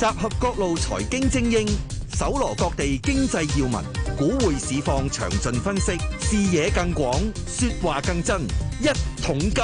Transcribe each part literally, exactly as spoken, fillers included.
合各路財經精英，搜羅各地經濟要聞，股匯市況詳盡分析，視野更廣，說話更真。一桶金。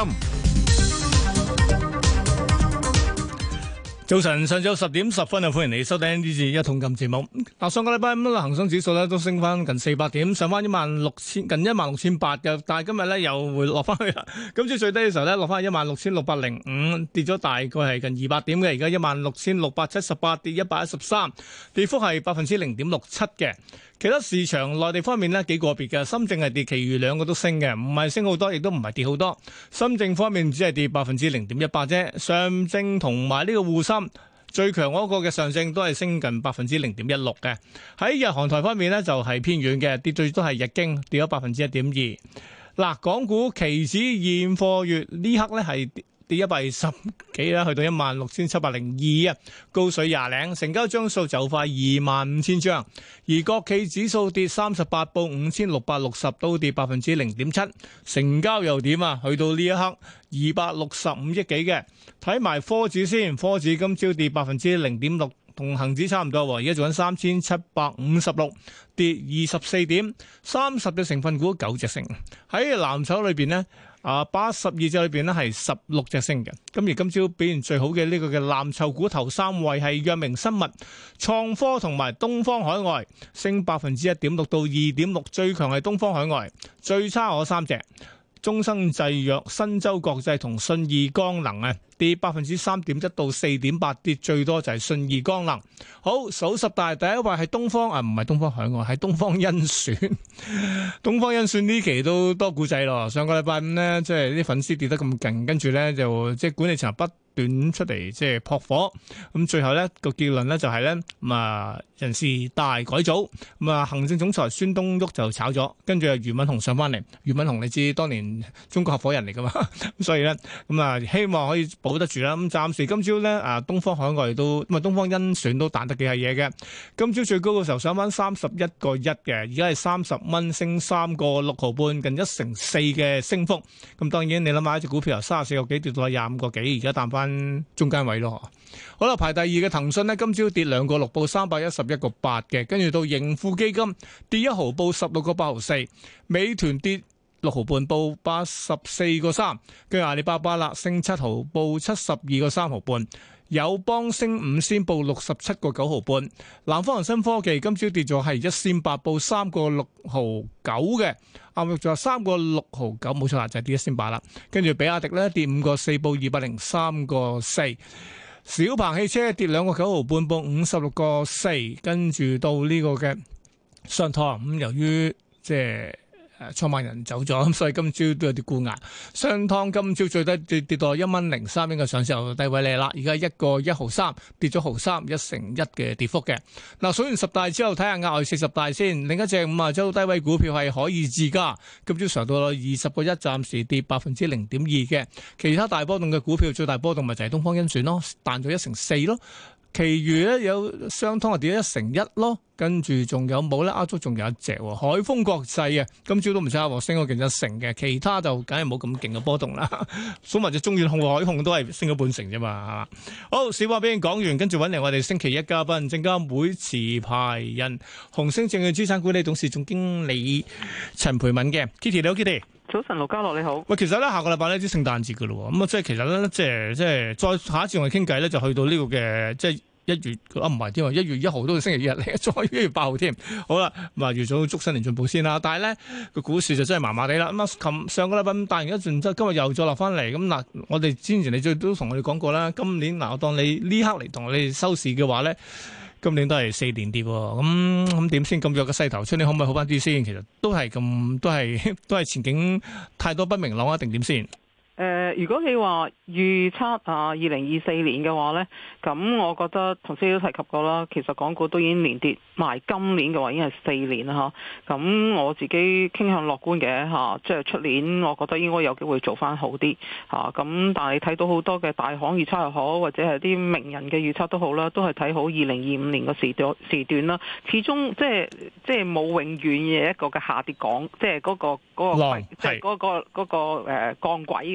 早晨，上晝十點十分啊，歡迎你收聽呢次一桶金節目。嗱，上個禮拜五恒生指數咧都升翻近四百點，上翻一萬六千近一萬六千八嘅，但係今日咧又會落翻去啦。今朝最低嘅時候咧落翻一萬六千六百零五，跌咗大概係近二百點嘅，而家一萬六千六百七十八，跌一百一十三，跌幅係百分之零點六七嘅。其他市場內地方面呢，幾個別嘅，深證係跌，其餘兩個都升嘅，唔係升好多，亦都唔係跌好多。深證方面只係跌百分之零點一八啫，上證同埋呢個滬深最強嗰個嘅上證都係升近百分之零點一六嘅。喺日韓台方面呢，就係偏軟嘅，跌最多係日經跌咗百分之一點二。嗱，港股期指現貨月呢刻呢係跌一百二十幾啦，去到一萬六千七百零二啊，高水廿零，成交張數就快二萬五千張。而國企指數跌三十八，報五千六百六十，都跌百分之零點七。成交又點啊？去到呢一刻二百六十五億幾嘅。睇埋科指先，科指今朝跌百分之零點六，同恒指差唔多。而家做緊三千七百五十六，跌二十四點，三十隻成分股九隻升。喺藍籌裏邊呢。啊，八十二隻裏邊咧係十六隻升嘅，咁而今朝表現最好嘅呢個嘅藍籌股頭三位係藥明生物、創科同埋東方海外，升百分之一點六到二點六，最強係東方海外，最差嗰三隻。中生製藥、新洲國際同信義光能啊，跌百分之三點一到四點八，跌最多就係信義光能。好，數十大第一位係東方啊，唔係東方海外，係東方甄選。東方甄選呢期都多股仔咯。上個禮拜五呢，即係啲粉絲跌得咁勁，跟住咧就即係管理層不斷出嚟即係撲火。咁最後咧個結論咧就係咧咁啊人事大改組，咁啊行政總裁孫東旭就炒咗，跟住啊俞敏洪上翻嚟。俞敏洪你知當年中國合夥人嚟噶嘛，咁所以咧咁啊希望可以保得住啦。咁暫時今朝咧啊東方海外都咁啊東方甄選都彈得幾係嘢嘅。今朝最高嘅時候上翻三十一個一嘅，而家係三十蚊升三個六毫半，近一成四嘅升幅。咁當然你諗下，一隻股票由三十四個幾跌到廿五個幾，而家彈翻中間位咯。好啦，排第二嘅騰訊呢，今朝跌兩個六，報三百一十一個八嘅，跟住到盈富基金跌一毫，報十六個八毫四，美團跌六毫半，報八十四個三，跟住阿里巴巴啦，升七毫，報七十二個三毫半。友邦升五仙，報六十七個九毫半。南方恒生科技今朝跌咗係一仙八，報三個六毫九嘅。啱啱仲有三個六毫九，冇錯啦，就係跌一仙八啦。跟住比亞迪咧跌五個四，報二百零三個四。小鵬汽車跌兩個九毫半，報五十六個四。跟住到呢個嘅商湯咁，由於即係。創辦人走咗，咁所以今朝都有啲沽壓。商湯今朝最低跌跌到一蚊零三，應該上市後低位嚟啦。而家一個一毫三，跌咗毫三，一成一嘅跌幅嘅。嗱，數完十大之後，睇下額外四十大先。另一隻五啊周低位股票係可以自家，今朝上到二十個一，暫時跌百分之零點二嘅。其他大波動嘅股票，最大波動咪就係東方甄選咯，彈咗一成四咯。其餘咧有商湯啊跌咗一成一咯，跟住仲有冇咧？亞足仲有一隻海豐國際啊，今朝都唔差喎，升咗近一成嘅。其他就梗係冇咁勁嘅波動啦。數埋隻中遠控、海控都係升咗半成啫嘛，係嘛？好，小話俾你講完，跟住揾嚟我哋星期一嘉賓，證監會持牌人、紅星證券資產管理董事總經理陳培敏嘅 Kitty， 你好 Kitty。 早晨，盧家樂你好。 喂，其實咧下個禮拜咧啲聖誕節噶咯，咁啊即係其實咧即係即係再下一次我哋傾偈咧，就去到呢個嘅即係一月啊唔係添啊，一月一號都係星期日嚟，再一月八號添。好啦，咁啊預早祝新年進步先啦。但係咧個股市就真係麻麻地啦。咁啊，琴上個禮拜咁大完一陣之後，今日又再落翻嚟。咁嗱，我哋之前你最都同我哋講過啦，今年嗱我當你呢刻嚟同我哋收市嘅話咧。今年都係四年跌喎，咁咁點先咁弱嘅勢頭出？你可唔可以好翻啲先？其實都係咁，都係都係前景太多不明朗啊，定點先？ 誒、呃，如果你話預測啊，二零二四年嘅話呢，咁我覺得頭先都提及過啦。其實港股都已經連跌埋，今年嘅話已經係四年啦嚇。咁我自己傾向樂觀嘅嚇，即係出年我覺得應該有機會做翻好啲嚇。咁但係睇到好多嘅大行預測又好，或者係啲名人嘅預測都好啦，都係睇好二零二五年個時段時段啦。始終即係即係冇永遠嘅一個嘅下跌港，即係嗰個嗰個即係嗰個嗰個誒降軌嘅。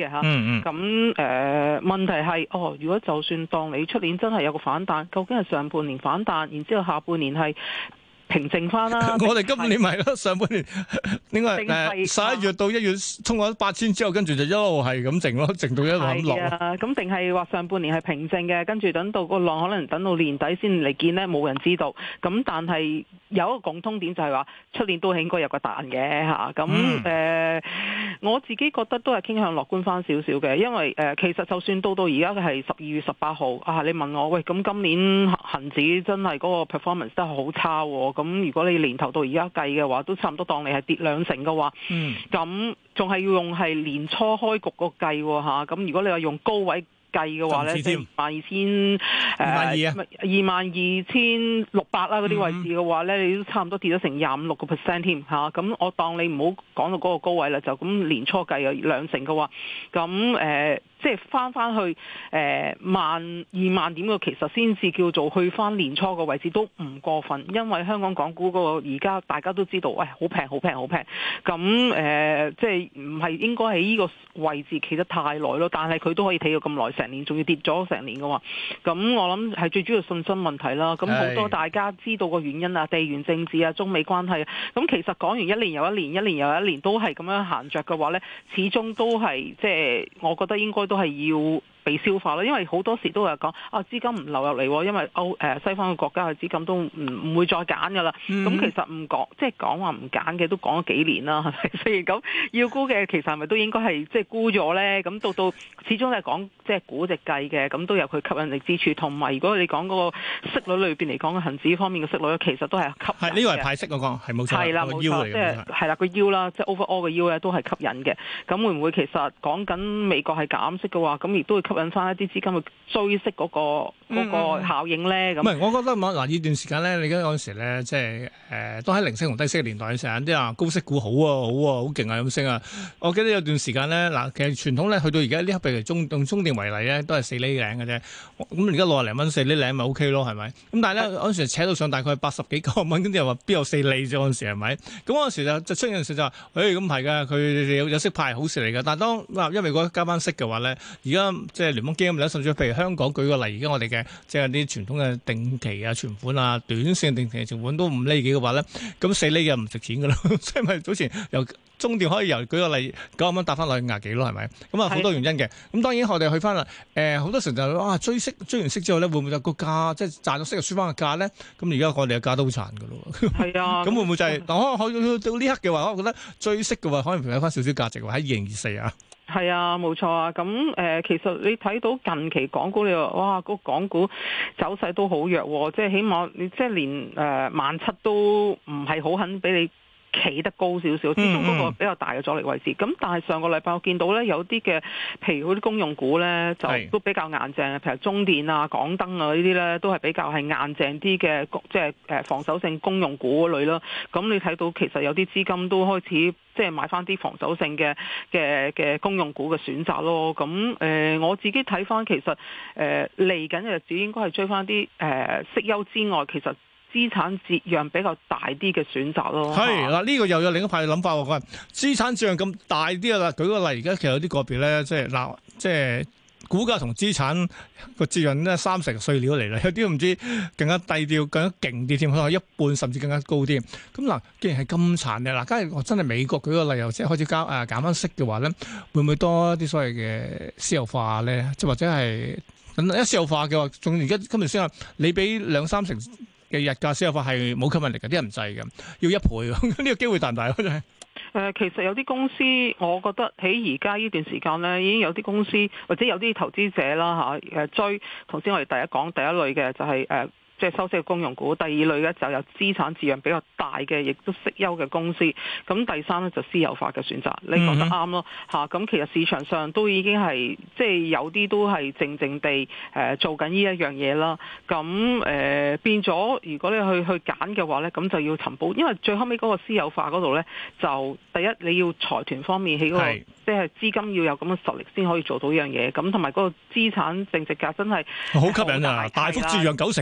嘅嚇。 嗯嗯。 咁誒、呃、問題係，哦，如果就算當你出年真係有個反彈，究竟係上半年反彈，然之後下半年係平靜翻啦？ 我哋今年咪咯，上半年應該係誒十一月到一月衝咗八千之後，跟住就一路係咁靜咯，靜到一路咁落。 係啊，咁定係話上半年係平靜嘅，跟住等到個浪可能等到年底先嚟見呢，冇人知道。咁但係有一個共通點就係話，出年都係應該有個彈嘅嚇。咁誒、嗯呃，我自己覺得都係傾向樂觀翻少少嘅，因為誒、呃、其實就算到到而家嘅係十二月十八號啊，你問我喂，咁今年恒指真係嗰個 performance 都係好差喎。咁如果你年頭到而家計嘅話，都差唔多當你係跌兩成嘅話，咁仲係要用係年初開局個計喎嚇。咁如果你話用高位計嘅話咧，即係二萬二千誒二萬二千六百啦嗰啲位置嘅話咧，嗯、你都差唔多跌咗成廿五六個 percent 添嚇。咁我當你唔好講到嗰個高位啦，就咁年初計有兩成嘅話，咁誒。呃即係翻翻去誒、呃、萬二萬點嘅，其實先至叫做去翻年初個位置都唔過分，因為香港港股嗰個而家大家都知道，喂好平好平好平，咁誒、呃、即係唔係應該喺呢個位置企得太耐咯？但係佢都可以企到咁耐，成年仲要跌咗成年嘅話，咁我諗係最主要信心問題啦。咁好多大家知道個原因啊，地緣政治啊，中美關係啊，咁其實講完一年又一年，一年又一年都係咁樣行着嘅話呢，始終都係即係我覺得應該。都係要被消化啦，因為好多時都係講啊資金唔流入嚟，因為歐誒、呃、西方嘅國家嘅資金都唔唔會再揀噶啦。咁、嗯、其實唔講，即係講話唔揀嘅都講咗幾年啦，係咪？所以咁要沽嘅，其實係咪都應該係即係沽咗咧？咁到到始終係講即係估值計嘅，咁都有佢吸引力之處。同埋如果你講嗰個息率裏邊嚟講嘅恆指方面嘅息率，其實都係吸引嘅。係呢個係派息嗰個係冇錯，係啦冇錯，即係係啦個腰啦，即係 overall 嘅腰咧都係吸引嘅。咁會唔會其實講緊美國係減息嘅話，咁亦都會吸引翻一啲資金去追息嗰、那個嗰、嗯、個效應咧？咁唔係，我覺得嗱呢段時間咧，你而家嗰陣時咧，即係誒、呃、都喺零息同低息嘅年代，成日啲啊高息股好啊好啊好勁啊咁升啊！我記得有段時間咧，嗱其實傳統咧去到而家呢刻，譬如中用中電為例咧，都係四厘零嘅啫。咁而家六十零蚊四厘零咪 O K 咯，係咪？咁但係咧嗰陣時扯到上大概八十幾九十蚊，跟住又話邊有四厘啫？嗰陣時係咪？咁嗰陣時就就出現陣時就話，誒咁係㗎，佢有有息派好事嚟㗎。但係當嗱因為如果加翻息嘅話咧，而家即係聯邦基金咧，甚至譬如香港舉個例，而家我哋嘅即係啲傳統嘅定期啊存款啊，短線定期存款都五厘幾嘅話咧，咁四厘嘅唔值錢㗎啦。所以咪早前由中電可以由舉個例九十蚊搭翻落去廿幾咯，係咪？咁啊好多原因嘅。咁當然我哋去翻啦，誒、呃、好多時候就啊追息追完息之後咧，會唔會有個價即係賺咗息就輸翻個價咧？咁而家我哋嘅價都好殘㗎咯。係啊，咁會唔會就係、是？嗱可能去到呢刻嘅話，我覺得追息嘅話，可能有翻少少價值喎。喺二零二四啊。係啊，冇錯啊。咁誒、呃，其實你睇到近期港股，你話哇，個港股走勢都好弱，即係起碼你即係連誒萬七都唔係好肯俾你企得高少少，始終嗰個比較大嘅阻力位置。咁但係上個禮拜我見到咧，有啲嘅，譬如嗰啲公用股咧，就都比較硬淨嘅，譬如中電啊、港燈啊呢啲咧，都係比較係硬淨啲嘅，即係誒防守性公用股嗰類啦。咁你睇到其實有啲資金都開始即係買翻啲防守性嘅嘅嘅公用股嘅選擇咯。咁誒、呃、我自己睇翻其實誒嚟緊嘅日子應該係追翻啲誒息優之外，其實資產折讓比較大啲嘅選擇咯。係嗱，呢個又有另一派嘅諗法喎。佢話資產折讓咁大啲啊啦，舉個例，而家其實有啲個別咧，即係嗱，即係股價同資產個折讓咧三成碎料嚟啦，有啲唔知更加低調、更加勁啲添，可能一半甚至更加高啲。咁嗱，既然係咁殘嘅，嗱，假如我真係美國舉個例，又即係開始交誒減翻息嘅話咧，會唔會多一啲所謂嘅私有化咧？即係或者係一私有化嘅話，仲而家今日先話你俾兩三成嘅日價私有化係冇吸引力嘅，啲人唔制嘅，要一倍，呢個機會大唔大啊？真係。誒，其實有啲公司，我覺得喺而家呢段時間咧，已經有啲公司或者有啲投資者啦嚇誒追。頭先我哋第一講第一類嘅就係、是、誒。即係收息嘅公用股，第二類咧就有資產質量比較大嘅，亦都息優嘅公司。咁第三咧就私有化嘅選擇，你講得啱咯嚇。咁、嗯、其實市場上都已經係即係有啲都係靜靜地誒、呃、做緊呢一樣嘢啦。咁誒、呃、變咗，如果你去去揀嘅話咧，咁就要尋寶，因為最後尾嗰個私有化嗰度咧，就第一你要財團方面喺嗰、那個即係資金要有咁嘅實力先可以做到呢樣嘢。咁同埋嗰個資產淨值價真係好吸引啊！大幅折讓九成咁啊，梗係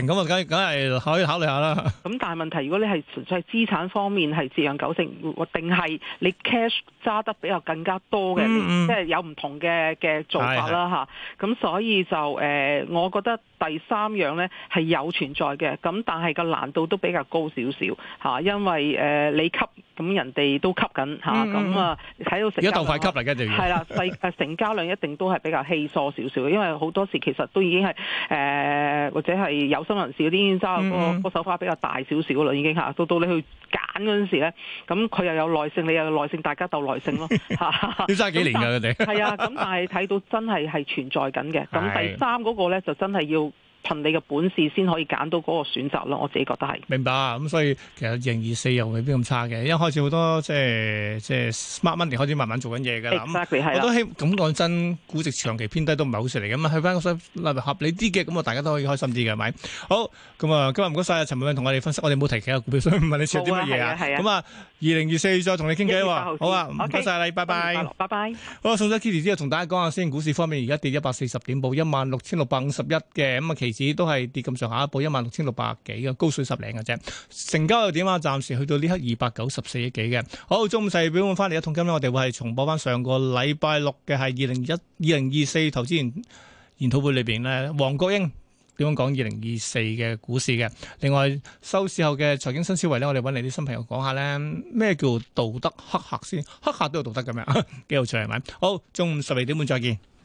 梗係可以考慮下啦。 咁但係問題，如果你係純粹係資產方面係折讓九成，定係你 cash 揸得比較更加多嘅， 嗯嗯即係有唔同嘅嘅做法啦嚇。咁所以就誒、呃，我覺得第三樣呢係有存在嘅，咁但係個難度都比較高少少嚇，因為誒、呃、你吸咁人哋都吸緊嚇，咁啊睇到成交量而家鬥快吸嚟嘅就係啦，細誒成交量一定都係比較稀疏少少，因為好多時其實都已經係誒、呃、或者係有心人士嗰啲已經揸嗰個嗯嗯個手法比較大少少啦，已經嚇到到你去揀嗰陣時咧，咁佢又有耐性，你又有耐性，大家鬥耐性咯嚇。 要揸幾年㗎佢哋？ 係啊，咁但係睇到真係係存在緊嘅。咁第三嗰個咧就真係要憑你嘅本事先可以揀到嗰個選擇咯，我自己覺得係。 明白啊，咁所以其實二零二四又未必咁差嘅，因為開始好多即係即係 smart money 開始慢慢做緊嘢㗎啦。 Exactly 係啦。 我都希咁講真，估值長期偏低都唔係好事嚟嘅嘛，去翻個所謂合理啲嘅，咁啊大家都可以開心啲嘅，係咪？好，咁啊今日唔該晒陳蓓敏同我哋分析，我哋冇提其他股票，所以唔問你持有啲乜嘢啊。咁啊，二零二四再同你傾偈喎。好啊，唔該晒你，拜拜。 拜拜。 好，送咗 Kitty 之後，同大家講下先，股市方面而家跌一百四十點，報一萬六千六百五十一嘅，咁啊期指都係跌咁上下，報一萬六千六百幾嘅，高水十零嘅啫。成交又點啊？暫時去到呢刻二百九十四億幾嘅。好，中午細表翻嚟一桶金咧，我哋會係重播翻上個禮拜六嘅係二零一二零二四投資研研討會裏邊咧，黃國英點樣講二零二四嘅股市嘅。另外收市後嘅財經新思維咧，我哋揾嚟啲新朋友講下咧，咩叫道德黑客先？黑客都有道德嘅咩？幾有趣係咪？好，中午十二點半再見。